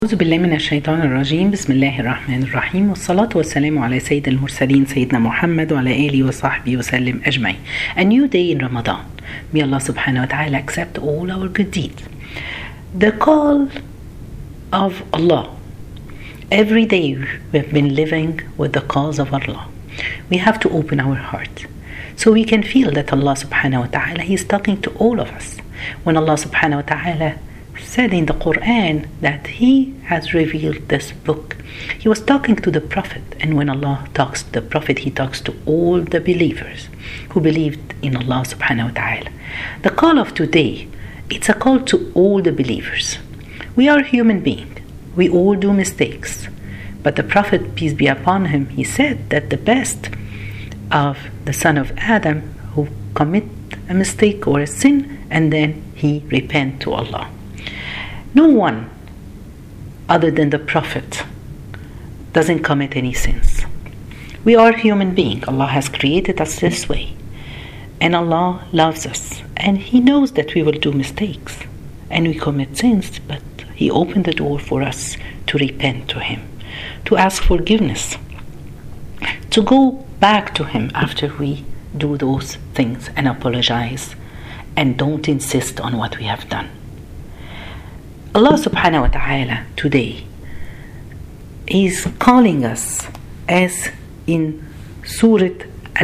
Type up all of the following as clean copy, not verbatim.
أعوذ بالله من الشيطان الرجيم. بسم الله الرحمن الرحيم، والصلاة والسلام على سيد المرسلين سيدنا محمد وعلى آله وصحبه وسلم أجمعين. A new day in Ramadan. May Allah subhanahu wa ta'ala accept all our good deeds. The call of Allah. Every day we've been living with the calls of Allah. We have to open our heart so we can feel that Allah subhanahu wa ta'ala He is talking to all of us. When Allah subhanahu wa ta'ala said in the Quran that He has revealed this book, He was talking to the Prophet, and when Allah talks to the Prophet, He talks to all the believers who believed in Allah subhanahu wa ta'ala. The call of today, it's a call to all the believers. We are human beings. We all do mistakes. But the Prophet, peace be upon him, he said that the best of the son of Adam who commit a mistake or a sin and then he repent to Allah. No one other than the Prophet doesn't commit any sins. We are human beings. Allah has created us this way. And Allah loves us. And He knows that we will do mistakes. And we commit sins. But He opened the door for us to repent to Him. To ask forgiveness. To go back to Him after we do those things and apologize. And don't insist on what we have done. Allah subhanahu wa ta'ala today is calling us as in Surah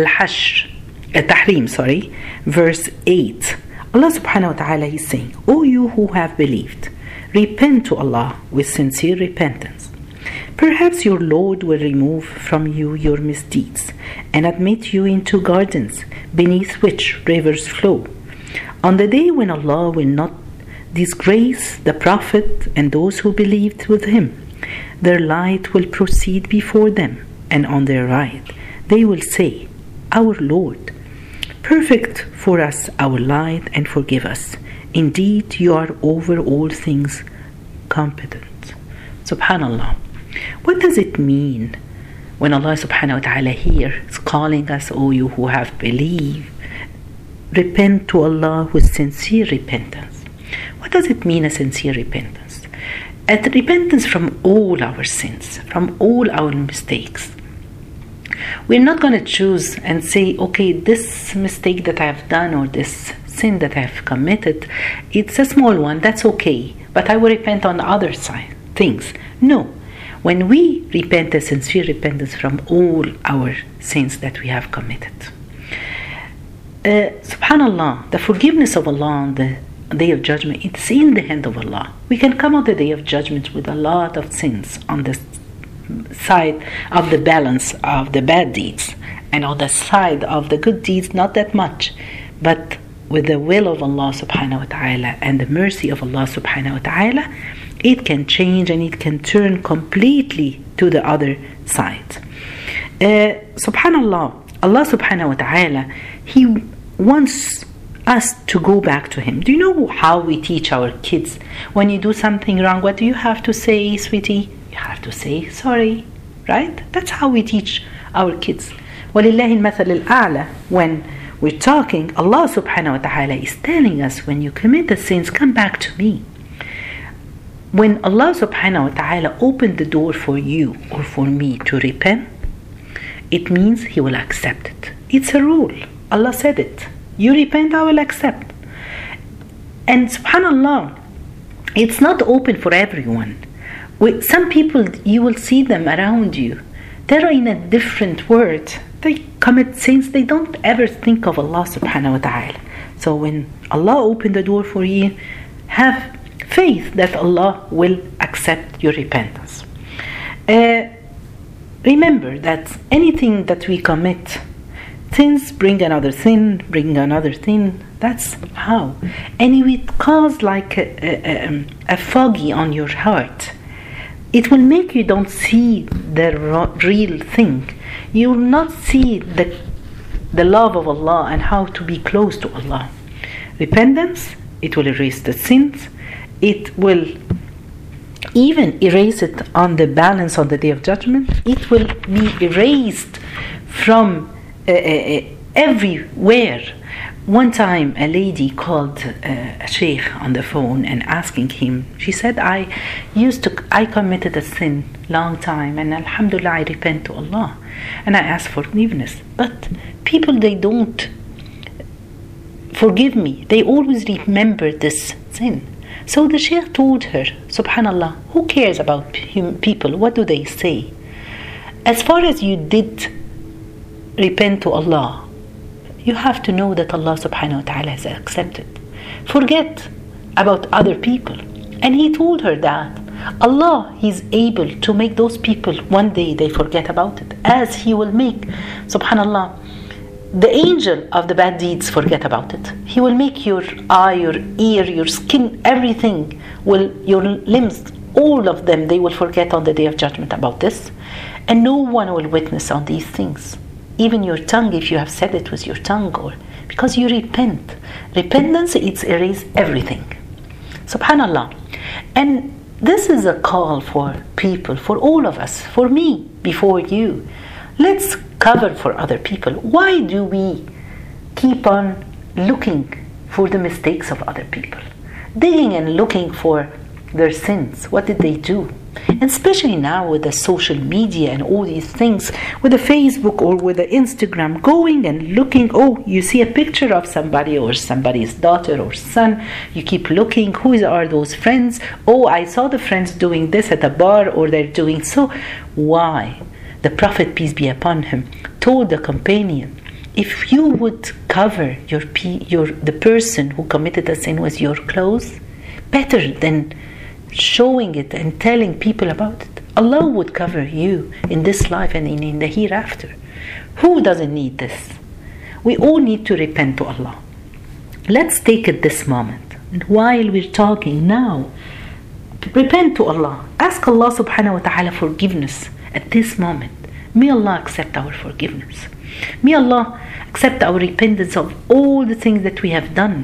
Al-Tahrim, verse 8. Allah subhanahu wa ta'ala is saying, O you who have believed, repent to Allah with sincere repentance. Perhaps your Lord will remove from you your misdeeds and admit you into gardens beneath which rivers flow. On the day when Allah will not disgrace the Prophet and those who believed with him, their light will proceed before them, and on their right they will say, Our Lord, perfect for us our light and forgive us. Indeed, you are over all things competent. Subhanallah. What does it mean when Allah subhanahu wa ta'ala here is calling us, O you who have believed, repent to Allah with sincere repentance? What does it mean, a sincere repentance? A repentance from all our sins, from all our mistakes. We're not going to choose and say, okay, this mistake that I have done or this sin that I have committed, it's a small one, that's okay, but I will repent on the other side, things. No. When we repent, a sincere repentance from all our sins that we have committed. Subhanallah, the forgiveness of Allah on the Day of Judgment, it's in the hand of Allah. We can come on the Day of Judgment with a lot of sins on the side of the balance of the bad deeds, and on the side of the good deeds, not that much. But with the will of Allah subhanahu wa ta'ala and the mercy of Allah subhanahu wa ta'ala, it can change and it can turn completely to the other side. Subhanallah, Allah subhanahu wa ta'ala, He wants us to go back to Him. Do you know how we teach our kids? When you do something wrong, what do you have to say, sweetie? You have to say sorry, right? That's how we teach our kids. وَلِلَّهِ الْمَثَلِ الْأَعْلَى. When we're talking, Allah subhanahu wa ta'ala is telling us, when you commit the sins, come back to me. When Allah subhanahu wa ta'ala opened the door for you or for me to repent, it means He will accept it. It's a rule. Allah said it. You repent, I will accept. And subhanallah, it's not open for everyone. With some people, you will see them around you. They're in a different world. They commit sins. They don't ever think of Allah subhanahu wa ta'ala. So when Allah opened the door for you, have faith that Allah will accept your repentance. Remember that anything that we commit, sins bring another sin, bring another sin. That's how. And it will cause like a foggy on your heart. It will make you don't see the real thing. You will not see the love of Allah and how to be close to Allah. Repentance, it will erase the sins. It will even erase it on the balance on the Day of Judgment. It will be erased from everywhere One time a lady called a sheikh on the phone and asking him, she said, I committed a sin long time and alhamdulillah I repent to Allah and I ask forgiveness, but people, they don't forgive me, they always remember this sin. So the sheikh told her, subhanallah, who cares about people, what do they say? As far as you did repent to Allah, you have to know that Allah subhanahu wa ta'ala has accepted. Forget about other people. And he told her that Allah is able to make those people one day they forget about it, as he will make, subhanallah, the angel of the bad deeds forget about it. He will make your eye, your ear, your skin, everything, your limbs, all of them, they will forget on the day of judgment about this. And no one will witness on these things. Even your tongue, if you have said it with your tongue, or because you repent. Repentance, it's erase everything. Subhanallah. And this is a call for people, for all of us, for me, before you. Let's cover for other people. Why do we keep on looking for the mistakes of other people? Digging and looking for their sins. What did they do? And especially now with the social media and all these things, with the Facebook or with the Instagram, going and looking, oh, you see a picture of somebody or somebody's daughter or son, you keep looking, who are those friends? Oh, I saw the friends doing this at a bar, or they're doing so. Why? The Prophet, peace be upon him, told the companion, if you would cover the person who committed a sin with your clothes, better than showing it and telling people about it. Allah would cover you in this life and in the hereafter. Who doesn't need this? We all need to repent to Allah. Let's take it this moment. And while we're talking now, repent to Allah. Ask Allah subhanahu wa ta'ala forgiveness at this moment. May Allah accept our forgiveness. May Allah accept our repentance of all the things that we have done.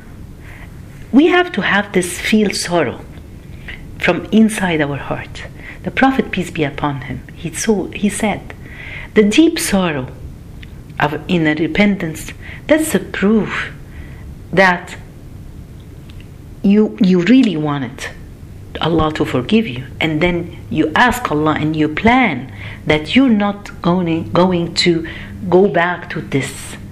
We have to have this feel sorrow from inside our heart. The Prophet, peace be upon him, he said, the deep sorrow in a repentance, that's a proof that you really wanted Allah to forgive you, and then you ask Allah and you plan that you're not going to go back to this.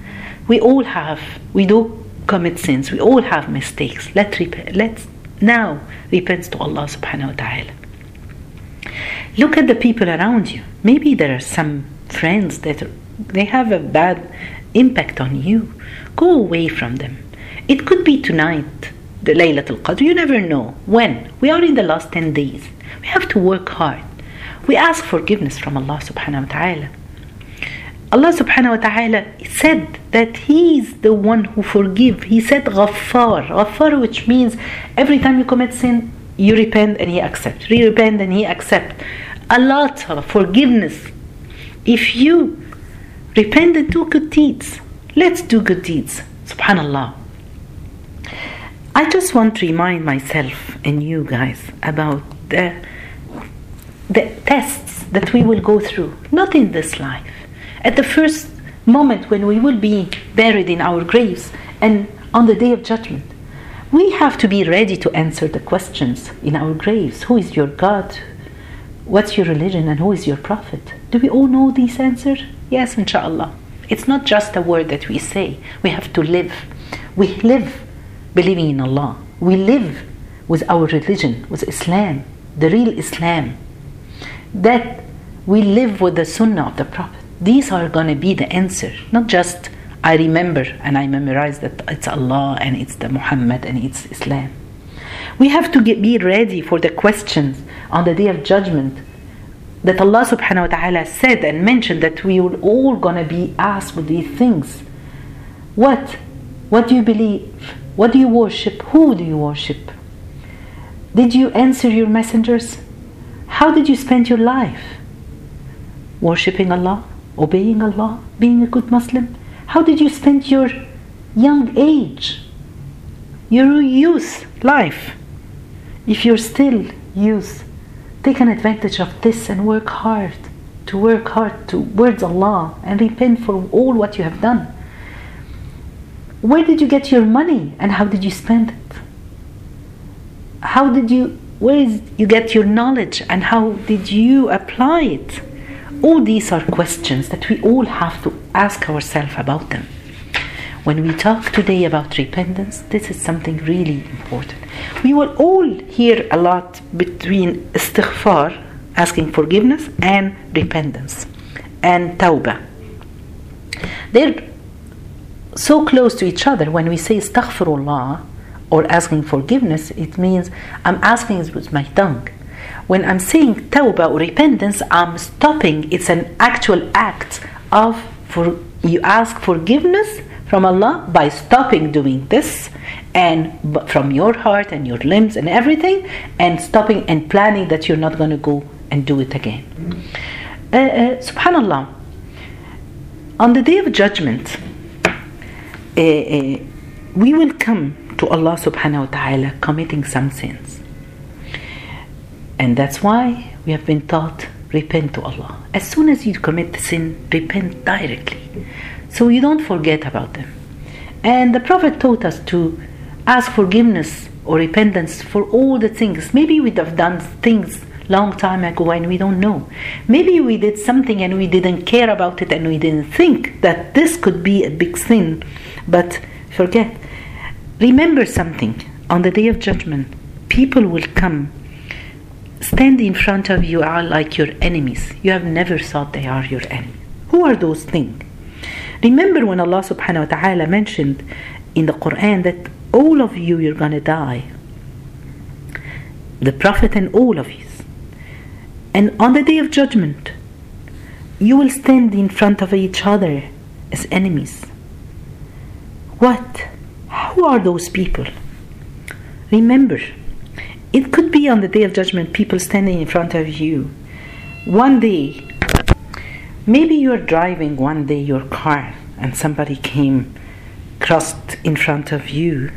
We do commit sins, we all have mistakes. Let's now repent to Allah subhanahu wa ta'ala. Look at the people around you. Maybe there are some friends that they have a bad impact on you. Go away from them. It could be tonight, the Laylatul Qadr. You never know when. We are in the last 10 days. We have to work hard. We ask forgiveness from Allah subhanahu wa ta'ala. Allah subhanahu wa ta'ala said that He is the one who forgives. He said Ghaffar. Ghaffar, which means every time you commit sin, you repent and He accepts. Repent and He accepts. A lot of forgiveness. If you repent and do good deeds, let's do good deeds. Subhanallah. I just want to remind myself and you guys about the tests that we will go through. Not in this life. At the first moment when we will be buried in our graves and on the day of judgment, we have to be ready to answer the questions in our graves. Who is your God? What's your religion? And who is your prophet? Do we all know these answers? Yes, inshallah. It's not just a word that we say. We have to live. We live believing in Allah. We live with our religion, with Islam, the real Islam. That we live with the sunnah of the Prophet. These are going to be the answer, not just I remember and I memorize that it's Allah and it's the Muhammad and it's Islam. We have to be ready for the questions on the day of judgment that Allah subhanahu wa ta'ala said and mentioned that we will all going to be asked with these things. What do you believe? What do you worship? Who do you worship? Did you answer your messengers? How did you spend your life? Worshipping Allah? Obeying Allah? Being a good Muslim? How did you spend your young age? Your youth life? If you're still youth, take an advantage of this and work hard towards Allah and repent for all what you have done. Where did you get your money and how did you spend it? Where did you get your knowledge and how did you apply it? All these are questions that we all have to ask ourselves about them. When we talk today about repentance, this is something really important. We will all hear a lot between istighfar, asking forgiveness, and repentance, and tawbah. They're so close to each other. When we say astaghfirullah or asking forgiveness, it means I'm asking it with my tongue. When I'm saying tawbah or repentance, I'm stopping. It's an actual act of you ask forgiveness from Allah by stopping doing this, and from your heart and your limbs and everything, and stopping and planning that you're not going to go and do it again. Subhanallah, on the day of judgment, we will come to Allah subhanahu wa ta'ala committing some sins. And that's why we have been taught, repent to Allah. As soon as you commit the sin, repent directly, so you don't forget about them. And the Prophet taught us to ask forgiveness or repentance for all the things. Maybe we'd have done things long time ago and we don't know. Maybe we did something and we didn't care about it and we didn't think that this could be a big sin. But forget. Remember something. On the day of judgment, people will come, stand in front of you, are like your enemies. You have never thought they are your enemy. Who are those things? Remember when Allah subhanahu wa ta'ala mentioned in the Quran that all of you're gonna die. The Prophet and all of you. And on the day of judgment, you will stand in front of each other as enemies. What? Who are those people? Remember, it could be on the day of judgment, people standing in front of you. One day, maybe you're driving one day your car and somebody came, crossed in front of you.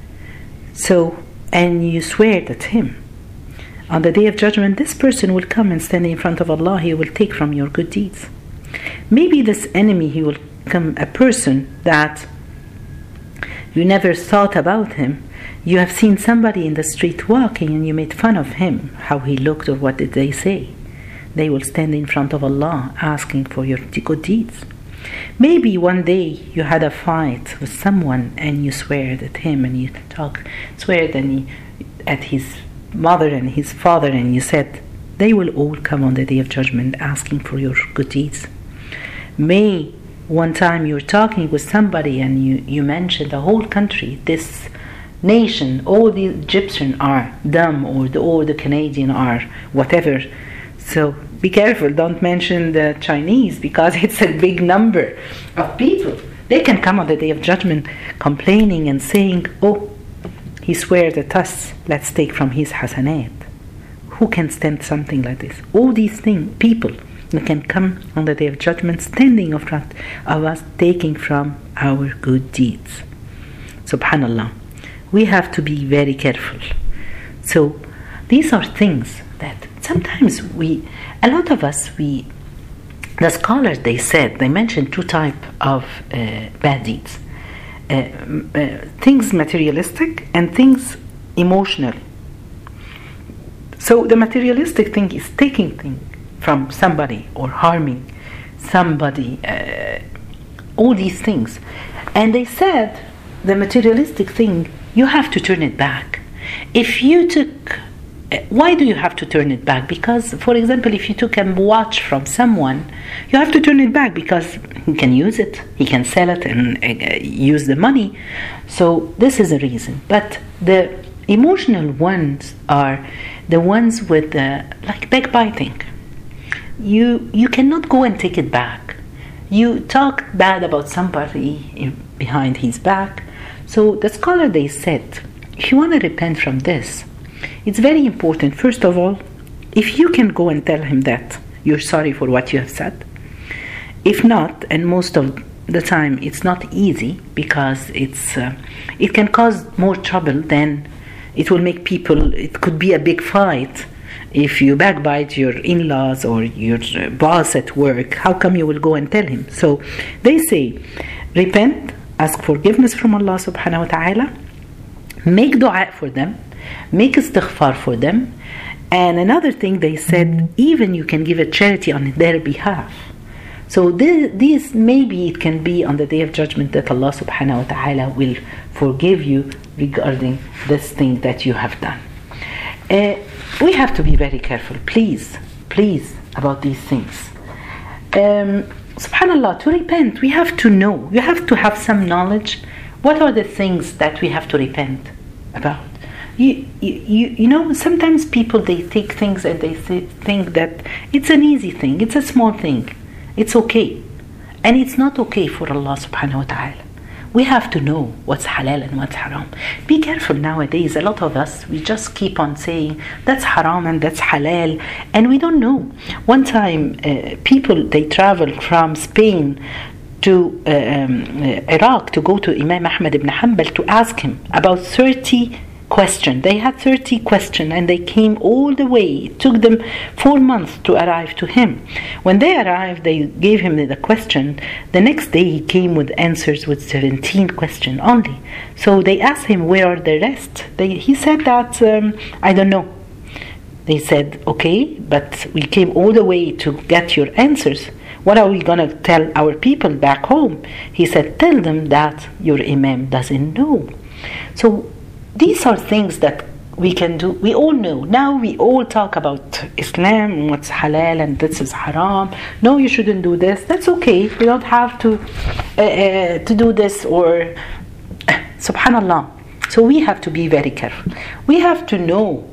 And you swear at him. On the day of judgment, this person will come and stand in front of Allah. He will take from your good deeds. Maybe this enemy, he will come, a person that you never thought about him. You have seen somebody in the street walking and you made fun of him, how he looked or what did they say. They will stand in front of Allah asking for your good deeds. Maybe one day you had a fight with someone and you swear at him and you swear at his mother and his father, and you said they will all come on the day of judgment asking for your good deeds. May one time you're talking with somebody and you mentioned the whole country, this nation, all the Egyptians are dumb, or the Canadian are whatever. So be careful, don't mention the Chinese, because it's a big number of people. They can come on the day of judgment complaining and saying, oh, he swears at us, let's take from his hasanat. Who can stand something like this? All these things, people can come on the day of judgment standing in front of us, taking from our good deeds. Subhanallah. We have to be very careful. So these are things that sometimes a lot of us, the scholars, they mentioned two types of bad deeds. Things materialistic and things emotional. So the materialistic thing is taking things from somebody or harming somebody, all these things. And they said the materialistic thing, you have to turn it back. If you took, why do you have to turn it back? Because, for example, if you took a watch from someone, you have to turn it back because he can use it, he can sell it and use the money. So this is a reason. But the emotional ones are the ones with like backbiting. You cannot go and take it back. You talk bad about somebody behind his back. So the scholar, they said, if you want to repent from this, it's very important, first of all, if you can go and tell him that you're sorry for what you have said. If not, and most of the time it's not easy, because it can cause more trouble than it will make people, it could be a big fight. If you backbite your in-laws or your boss at work, how come you will go and tell him? So they say, repent ask forgiveness from Allah subhanahu wa ta'ala, make dua for them, make istighfar for them. And another thing they said, even you can give a charity on their behalf. So this maybe it can be on the day of judgment that Allah subhanahu wa ta'ala will forgive you regarding this thing that you have done. We have to be very careful, please, about these things. Subhanallah, to repent, we have to know, you have to have some knowledge. What are the things that we have to repent about? You know, sometimes people, they take things and they think that it's an easy thing, it's a small thing, it's okay. And it's not okay for Allah subhanahu wa ta'ala. We have to know what's halal and what's haram. Be careful nowadays. A lot of us, we just keep on saying that's haram and that's halal, and we don't know. One time, people, they traveled from Spain to Iraq to go to Imam Ahmad ibn Hanbal to ask him about 30 questions. They had 30 questions and they came all the way. It took them 4 months to arrive to him. When they arrived, they gave him the question. The next day he came with answers with 17 questions only. So they asked him, where are the rest? He said that, I don't know. They said, okay, but we came all the way to get your answers. What are we going to tell our people back home? He said, tell them that your imam doesn't know. So these are things that we can do. We all know. Now we all talk about Islam and what's halal and this is haram. No, you shouldn't do this. That's okay. We don't have to do this or subhanallah. So we have to be very careful. We have to know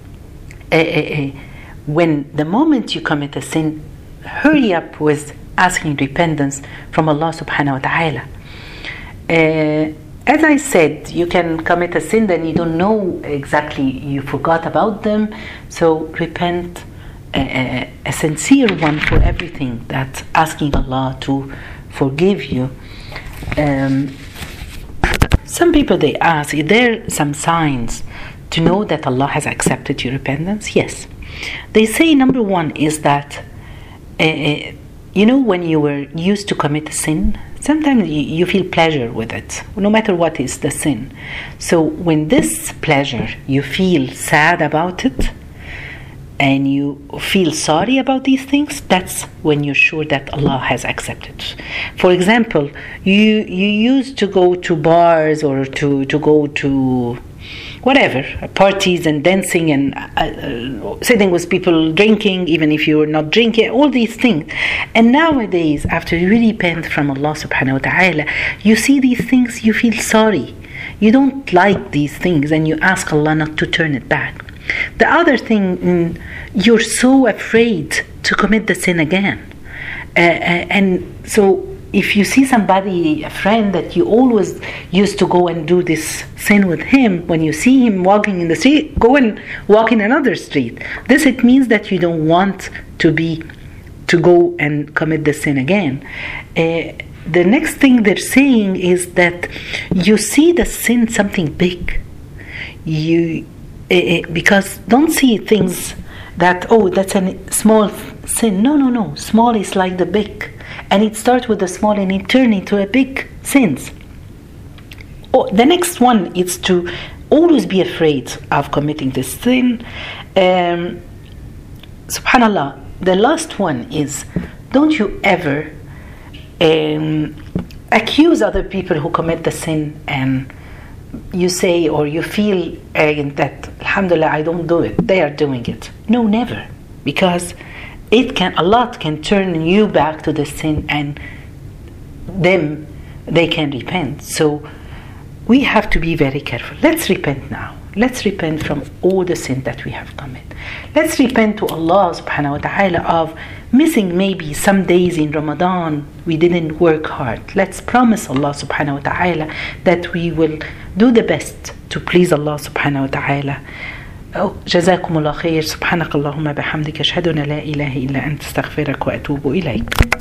when the moment you commit a sin, hurry up with asking repentance from Allah subhanahu wa ta'ala. As I said, you can commit a sin that you don't know exactly, you forgot about them. So repent, a sincere one for everything, that's asking Allah to forgive you. Some people, they ask, are there some signs to know that Allah has accepted your repentance? Yes. They say number one is that, you know, when you were used to commit a sin, sometimes you feel pleasure with it, no matter what is the sin. So when this pleasure, you feel sad about it, and you feel sorry about these things, that's when you're sure that Allah has accepted. For example, you used to go to bars or to go to whatever, parties and dancing and sitting with people drinking, even if you were not drinking, all these things. And nowadays, after you repent from Allah subhanahu wa ta'ala, you see these things, you feel sorry. You don't like these things and you ask Allah not to turn it back. The other thing, you're so afraid to commit the sin again. And so if you see somebody, a friend that you always used to go and do this sin with him, when you see him walking in the street, go and walk in another street. This, it means that you don't want to go and commit the sin again. The next thing they're saying is that you see the sin something big. Because don't see things that, oh, that's a small sin. No. Small is like the big. And it starts with the small and it turns into a big sins. Oh, the next one is to always be afraid of committing this sin. Subhanallah. The last one is, don't you ever accuse other people who commit the sin, and you say or you feel that alhamdulillah, I don't do it, they are doing it. No, never. Because Allah can turn you back to the sin, and they can repent. So we have to be very careful. Let's repent now. Let's repent from all the sin that we have committed. Let's repent to Allah subhanahu wa ta'ala of missing maybe some days in Ramadan we didn't work hard. Let's promise Allah subhanahu wa ta'ala that we will do the best to please Allah subhanahu wa ta'ala. جزاكم الله خير. سبحانك اللهم بحمدك أشهد أن لا إله إلا أنت أستغفرك وأتوب إليك.